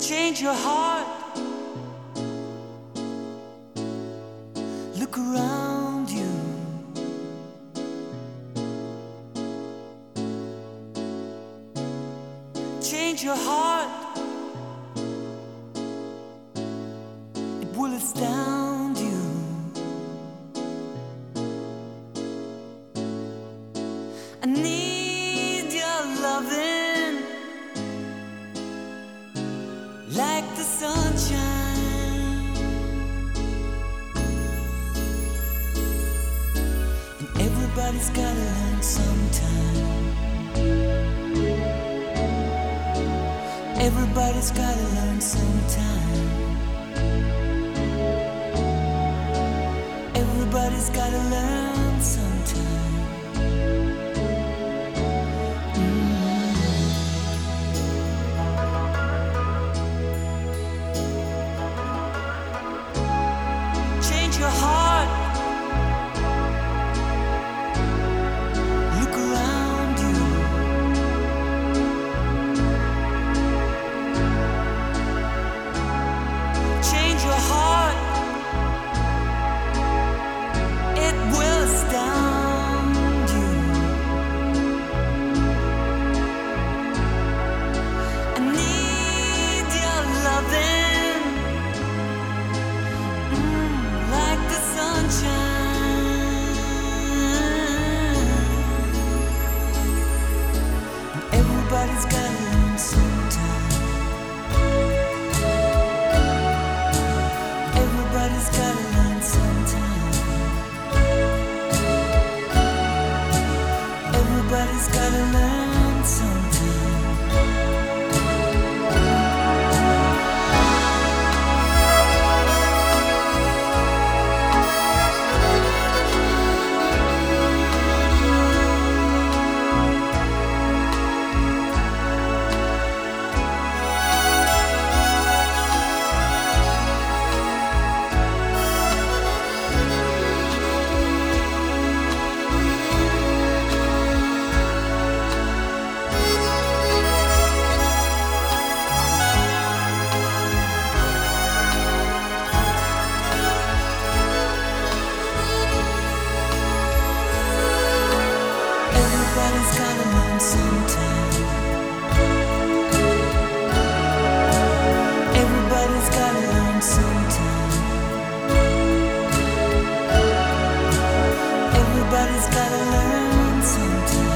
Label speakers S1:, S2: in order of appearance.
S1: change your heart. Look around you. Change your heart. It will astound you. I need your loving like the sunshine, and everybody's gotta learn sometime. Everybody's gotta learn sometime. Everybody's gotta learn sometime. Change your heart. Look around you. Change your heart. It will astound you. I need your loving like the sunshine. Everybody's gotta learn sometime. Everybody's gotta learn sometime. Everybody's gotta learn sometime. Everybody's gotta learn sometime. Everybody's gotta learn sometime. Everybody's gotta learn sometime.